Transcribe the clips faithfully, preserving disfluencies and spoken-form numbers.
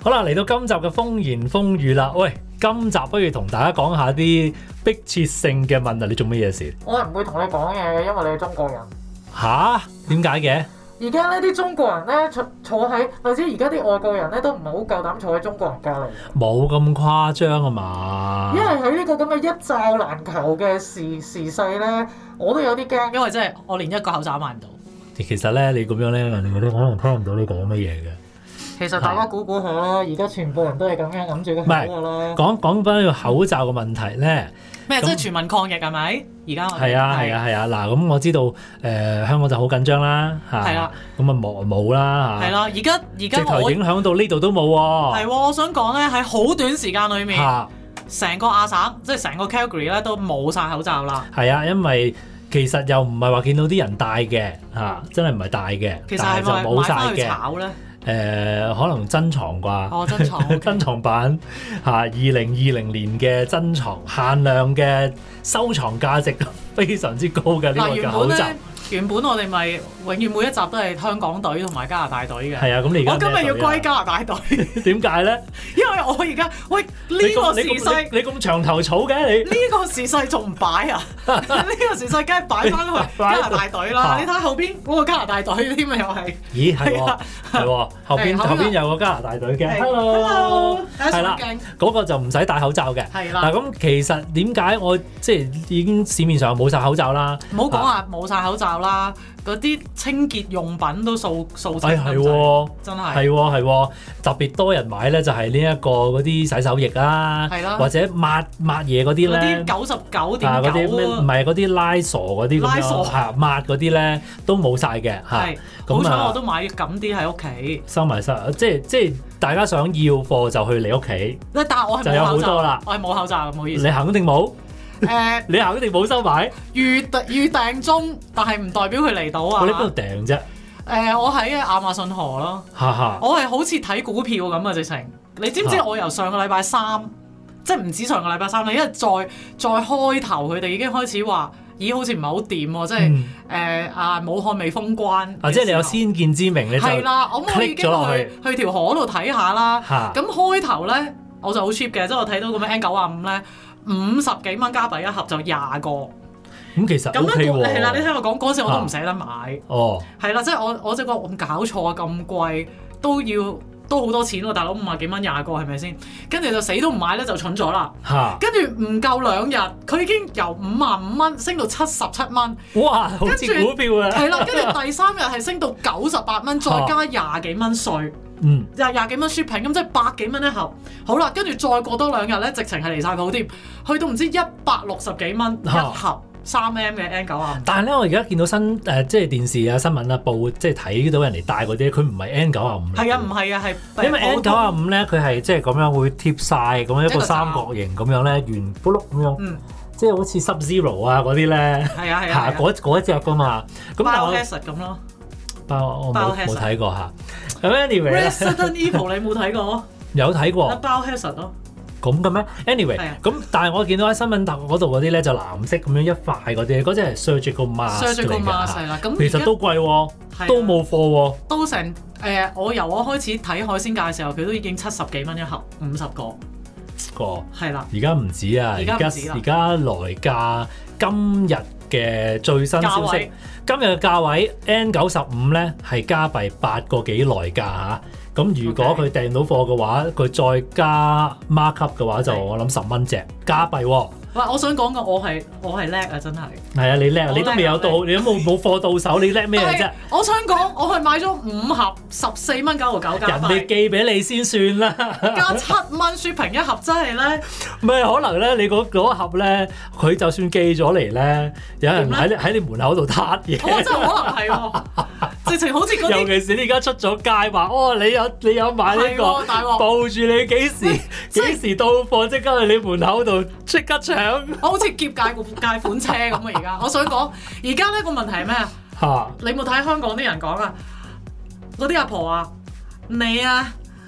好啦，嚟到今集嘅風言風語啦。喂，今集不如同大家講下啲迫切性嘅問題。你做乜嘢事？ 我係唔會同你講嘢嘅，因為你係中國人。 吓？點解嘅？ 而家呢啲中國人咧坐坐喺，或者而家啲外國人咧都唔係好夠膽坐喺中國人隔離。 冇咁誇張啊嘛。 因為喺呢個咁嘅一罩難求嘅時時勢咧，我都有啲驚，因為真係我連一個口罩買唔到。 其實咧，你咁樣咧，人哋嗰啲可能聽唔到你講乜嘢嘅。 其實大家估估下啦，而家全部人都係咁樣揞住個口㗎啦。 講講翻呢個口罩嘅問題咧。 咩？即係全民抗疫係咪？而家係啊係啊係啊！嗱，咁我知道誒、呃、香港就好緊張啦嚇。係啦。咁啊冇冇啦嚇。 係啦，而家而家直頭影響到呢度都冇喎。係喎，我想講咧喺好短時間裏面，成個亞省即係成個 Calgary 咧都冇晒口罩啦。 係啊，因為其實又唔係話見到啲人戴嘅嚇，真係唔係戴嘅。 其實係咪買翻去炒咧？ 誒、呃、可能珍藏啩， 哦珍藏， okay. 珍藏版嚇，二零二零年嘅珍藏限量嘅收藏價值非常之高嘅呢個嘅口罩。 原本我哋咪永遠每一集都係香港隊同埋加拿大隊嘅。 係啊，咁你而家我今日要歸加拿大隊。 點解咧？ 因為我而家喂呢、呢個時勢， 你咁長頭草嘅你？ 呢個時勢仲唔擺啊？呢個時勢梗係擺翻去加拿大隊啦！你睇下後邊嗰個加拿大隊添啊，又係。咦，係喎，係喎，後邊後邊有個加拿大隊嘅。Hello，係啦， 嗰個就唔使戴口罩嘅。 係啦。 嗱咁其實點解我即係已經市面上冇晒口罩啦？ 唔好講話冇晒口罩啦，嗰啲清潔用品都掃掃清咁滯， 真係係喎係喎，特別多人買咧就係呢一個嗰啲洗手液啦，或者抹抹嘢嗰啲咧， 嗰啲九十九點九唔係嗰啲拉傻嗰啲咁樣，係抹嗰啲咧都冇晒嘅嚇。 好彩我都買緊啲喺屋企， 收埋晒，即係即係大家想要貨就去你屋企， 但係我係就有好多啦， 我係冇口罩，唔好意思。 你肯定冇？誒、 呃， 你肯定冇收買？ 預預訂中，但係唔代表佢嚟到啊！ 我喺邊度訂啫？誒、 呃，我喺亞馬遜河咯。我係好似睇股票咁啊！直情，你知唔知我由上個禮拜三，即係唔止上個禮拜三啦，因為再再開頭佢哋已經開始話，咦，好似唔係好掂喎，即係誒、嗯、啊，武漢未封關。啊， 即係你有先見之明，你就係啦，咁我已經去去條河度睇下啦。咁開頭咧，我就好 cheap 嘅，即係我睇到咁樣 N 九十五咧。五十幾蚊加幣一盒就廿個，咁、 嗯、其實 O K 喎。 係啦，你聽我講嗰陣時我都唔捨得買。 哦， 係啦，即係我我即係講咁搞錯啊，咁貴都要都好多錢喎，大佬五十幾蚊廿個係咪先？跟住就死都唔買咧，就蠢咗啦。跟住唔夠兩日，佢已經由五十五蚊升到七十七蚊。 哇，好似股票啊！ 係啦，跟住第三日係升到九十八蚊，再加廿幾蚊稅。 嗯， 廿廿幾蚊 shipping 咁即係百幾蚊一盒，好啦，跟住再過多兩日咧，直情係離晒譜添，去到唔知一百六十幾蚊一盒三 M 嘅 N 九十五。 但係咧，我而家見到新誒、呃，即係電視啊、新聞啊、報，即係睇到人哋戴嗰啲，佢唔係 N 九十五。 係啊，唔係啊，係因為 N 九十五咧，佢係即係咁樣會貼晒咁樣一個三角形咁樣咧，圓咕碌咁樣，嗯、即係好似 Sub Zero 啊嗰啲咧， 係啊係啊， 嗰嗰一隻噶嘛。咁但係 Biohazard 咁咯。 包我冇冇睇過嚇。咁 anyway，Resident Evil 你冇睇過？ 有睇過。 Biohazard 咯。 咁嘅咩 ？anyway，咁但係我見到喺新聞嗰度嗰啲咧就藍色咁樣一塊嗰啲，嗰隻係 surgical mask 嚟㗎。咁其實都貴喎，都冇貨喎。 都成誒、呃，我由我開始睇海鮮價嘅時候，佢都已經七十幾蚊一盒，五十個。個係啦。而家唔止啊！而家而家來價今日嘅最新消息，今日嘅價位 N 九十五咧係加幣八個幾來價嚇。咁如果佢訂到貨嘅話，佢再加 mark up 嘅話，就我諗十蚊隻加幣喎。喂，我想講個我係我係叻啊，真係。係啊，你叻啊！你都未有到，你都冇冇貨到手，你叻咩啫？我想講，我係買咗五盒十四蚊九毫九加幣。人哋寄俾你先算啦。加七蚊 shipping 一盒真係咧。唔係可能咧，你嗰嗰盒咧，佢就算寄咗嚟咧，有人喺你喺你門口度撻嘢。我真係可能係喎。直情好似嗰啲，尤其是你而家出咗街話，哦，你有你有買呢、呢個，報住你幾時幾時到貨，即刻去你門口度即刻搶。我好似劫界個界款車咁啊！而家我想講，而家呢個問題係咩啊？嚇！你冇睇香港啲人講啊？嗰啲阿婆啊，你啊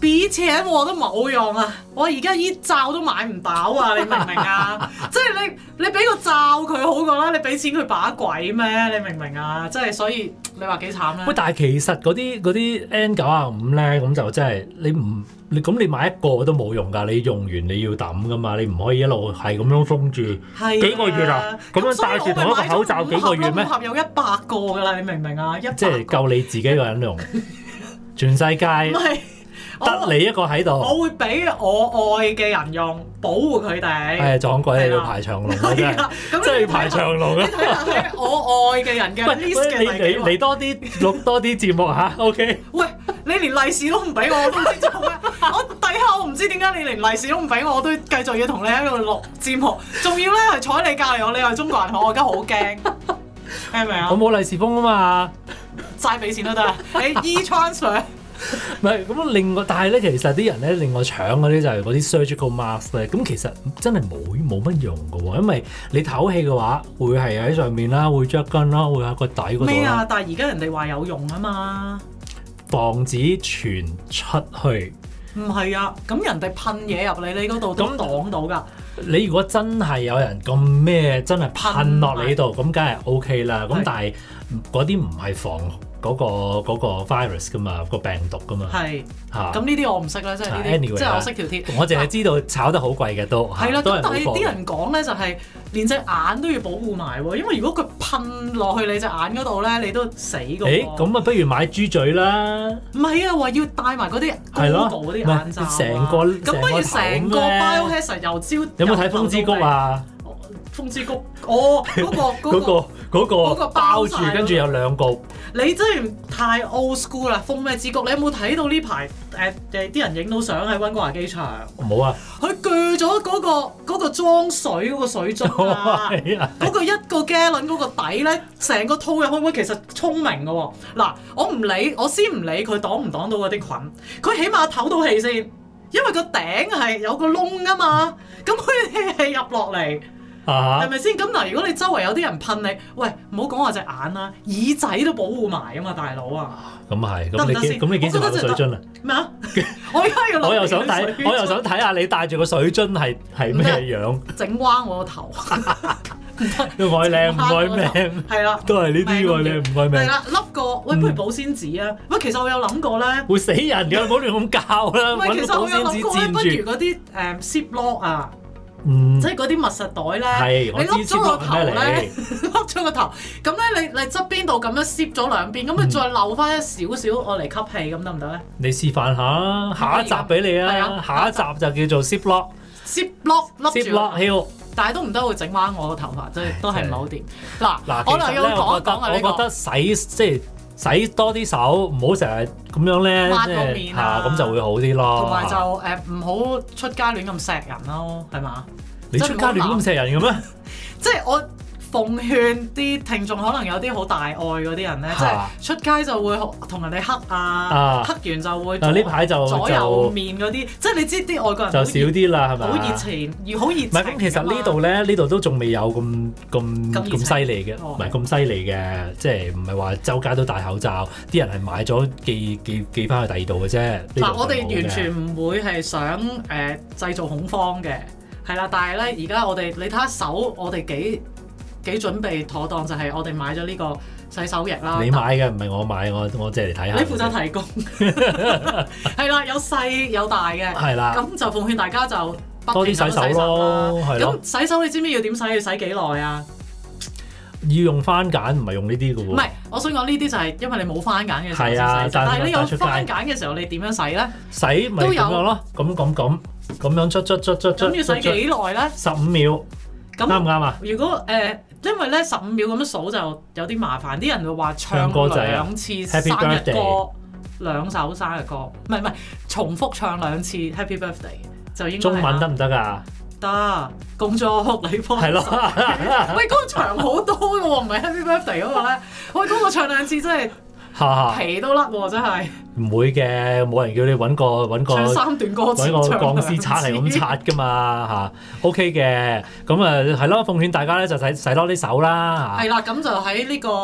俾錢我都冇用啊！我而家依罩都買唔到啊！你明唔明啊？即係你你俾個罩佢好過啦，你俾錢佢把鬼咩？你明唔明啊？即係所以你話幾慘咧？ 喂，但係其實嗰啲嗰啲 N 九十五咧，咁就真係你唔你咁你買一個都冇用㗎，你用完你要抌㗎嘛，你唔可以一路係咁樣封住幾個月啊？咁樣戴住同一個口罩幾個月咩？ 五盒有一百個㗎啦，你明唔明啊？一百個即係夠你自己一個人用，全世界得你一個喺度。 我會俾我愛嘅人用，保護佢哋。 係撞鬼你要排長龍啊！真係，真係要排長龍啊！ 你睇下喺我愛嘅人嘅 list 嘅你你嚟多啲錄多啲節目嚇 ，OK？ 喂，你連利是都唔俾我，我都唔知做咩。我底下我唔知點解你連利是都唔俾我，我都繼續要同你喺度錄節目，仲要咧係坐喺你隔離我，你係中國人，我而家好驚，係咪啊？ 我冇利是封啊嘛， 齋俾錢都得，你 e-transfer。 唔係咁另外，但係咧其實啲人咧另外搶嗰啲就係嗰啲 surgical mask 咧，咁其實真係冇冇乜用嘅喎，因為你唞氣嘅話會係喺上面啦，會着根啦，會喺個底嗰度啦。 咩啊？但係而家人哋話有用啊嘛， 防止傳出去。 唔係啊，咁人哋噴嘢入你你嗰度都擋到㗎。 你如果真係有人咁咩，真係噴落你度，咁梗係 OK 啦。咁但係嗰啲唔係防嗰、嗰個嗰個 virus 㗎嘛，個病毒㗎嘛。係嚇。咁呢啲我唔識啦，即係呢啲，anyway, 即係我識條貼。我淨係知道炒得好貴嘅都係啦。咁但係啲人講咧就係連隻眼都要保護埋喎，因為如果佢噴落去你隻眼嗰度咧，你都死㗎喎。誒，咁啊，不如買豬嘴啦。唔係啊，話要戴埋嗰啲 Google 嗰啲眼罩啊。成個咁不如成個 biohazard 又招。有冇睇風之谷啊？風之谷，哦，嗰、嗰個嗰、嗰個嗰、嗰個嗰個包住，跟住有兩個。你真係太 old school 啦！風咩之谷？你有冇睇到呢排誒誒啲人影到相喺溫哥華機場？冇啊！佢鋸咗嗰個嗰、嗰個裝水嗰個水樽啊！嗰個一個 gallon 嗰個底咧，成個套入去，喂，其實聰明嘅喎。嗱，我唔理，我先唔理佢擋唔擋到嗰啲菌，佢起碼唞到氣先，因為個頂係有個窿啊嘛，咁佢氣係入落嚟。係咪先？咁嗱，如果你周圍有啲人噴你，喂，唔好講話隻眼啦，耳仔都保護埋啊嘛，大佬啊！咁係，咁你幾咁你幾時買水樽啊？咩啊？我而家要攞我又想睇，我又想睇下你帶住個水樽係係咩樣？整彎我個頭，唔愛靚唔愛命，係啦，都係呢啲喎，你唔愛命。係啦，笠個喂，不如保鮮紙啊！喂，其實我有諗過咧，會死人㗎，唔好亂咁教啦。喂，其實我有諗過咧，不如嗰啲誒 Ziploc 啊。嗯、即係嗰啲密實袋咧，你笠咗個頭咧，笠咗個頭，咁咧你你側邊度咁樣攝咗兩邊，咁你再漏翻一少少我嚟吸氣，咁得唔得咧？你示範下，下一集俾你啊！下一集就叫做 Ziploc，Ziploc 笠住，但係都唔得會整彎我個頭髮，即係都係唔係好掂。嗱嗱，我又要講一講啊呢個。我覺得洗即係。洗多啲手，唔好成日咁樣咧，抹個面啊，咁就會好啲咯。同埋就誒唔好出街亂咁錫人咯，係嘛？你出街亂咁錫人嘅咩？即係我奉勸啲聽眾，可能有啲好大愛嗰啲人咧，即係出街就會同人哋黑啊，黑完就會。但呢排就左右面嗰啲，即係你知啲外國人就少啲啦，係咪？好熱情，要好熱情。唔係咁，其實呢度咧，呢度都仲未有咁咁咁犀利嘅，唔係咁犀利嘅，即係唔係話周街都戴口罩，啲人係買咗寄寄寄翻去第二度嘅啫。嗱，我哋完全唔會係想誒製造恐慌嘅，係啦，但係咧而家我哋你睇下手，我哋幾。幾準備妥當就係我哋買咗呢個洗手液啦。你買嘅唔係我買，我我借嚟睇下。你負責提供，係啦，有細有大嘅。係啦。咁就奉勸大家就多啲洗手咯，係咯。咁洗手你知唔知要點洗？要洗幾耐啊？要用番梘，唔係用呢啲嘅喎。唔係，我想講呢啲就係因為你冇番梘嘅時候先洗。係啊，但係你有番梘嘅時候，你點樣洗咧？洗咪咁樣咯，咁咁咁咁樣捽捽捽捽捽。咁要洗幾耐咧？十五秒。啱唔啱啊？如果誒、呃，因為咧十五秒咁樣數就有啲麻煩，啲人會話唱兩次生日歌，兩首生日歌，唔係唔係重複唱兩次 Happy Birthday 就應該。中文得唔得㗎？得，恭祝你福。係咯。喂，嗰、嗰個長好多嘅喎，唔係 Happy Birthday 嗰個咧。喂，嗰個唱兩次真係〜皮都甩喎，真係唔會嘅，冇人叫你揾個揾個三段歌詞，揾個鋼絲刷嚟咁刷噶嘛嚇。OK 嘅，咁啊係咯，奉勸大家咧就洗洗多啲手啦嚇。係啦，咁就喺呢個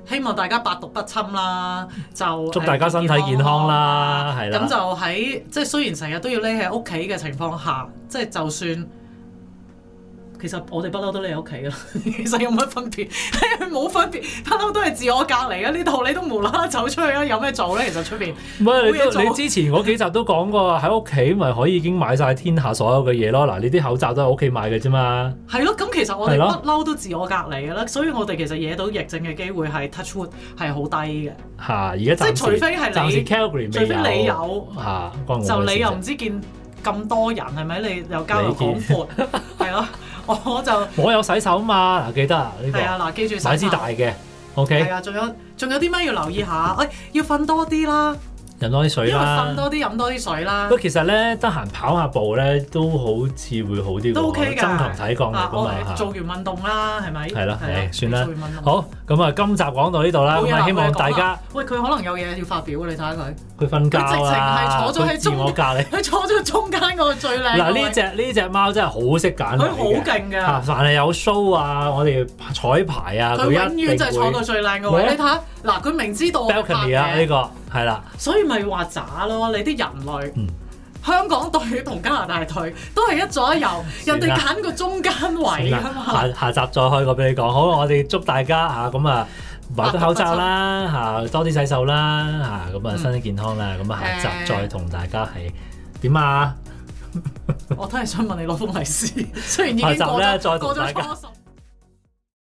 希望大家百毒不侵啦，就祝大家身體健康啦，係啦。 咁就喺即係雖然成日都要匿喺屋企嘅情況下，即係就算。其實我哋不嬲都匿喺屋企啦，其實有乜分別？冇分別，不嬲都係自我隔離啊！呢度你都無啦啦走出去啊，有咩做咧？其實出邊唔係你你之前嗰幾集都講過，喺屋企咪可以已經買晒天下所有嘅嘢咯。嗱，你啲口罩都喺屋企買嘅啫嘛。係咯，咁其實我哋不嬲都自我隔離嘅啦，所以我哋其實惹到疫症嘅機會係 touch wood 係好低嘅。 嚇！而家即係除非係你， 暫時 Calgary 除非你有嚇， 就你又唔知見咁多人係咪？你又交流廣闊係咯。我就我有洗手嘛，嗱記得啊呢個。 係啊，嗱記住洗手。 買支大嘅 ，OK。 係啊，仲有仲有啲咩要留意下？喂、哎，要瞓多啲啦。 飲多啲水啦， 因為瞓多啲飲多啲水啦。 不過其實咧，得閒跑下步咧，都好似會好啲喎。 都 OK 㗎， 增強體抗力㗎嘛。 做完運動啦，係咪？ 係啦，係算啦。好，咁啊，今集講到呢度啦。咁啊，希望大家。 喂，佢可能有嘢要發表，你睇下佢。 佢瞓覺啊！ 佢直情係坐咗喺中， 我隔離。 佢坐咗中間嗰個最靚。 嗱，呢隻呢隻貓真係好識揀。 佢好勁㗎。 嚇，凡係有 show 啊，我哋彩排啊， 佢永遠就係坐到最靚嘅位。你睇下，嗱，佢明知道。 balcony 啊，呢個係啦。 所以咪話渣咯，你啲人類。 嗯。 香港隊同加拿大隊都係一左一右，人哋揀個中間位啊嘛。 下下集再開個俾你講，好，我哋祝大家嚇咁啊買對口罩啦嚇，多啲洗手啦嚇，咁啊身體健康啦，咁啊、嗯、下集再同大家係點啊？ 我都係想問你攞封利是，雖然已經過咗過咗初十。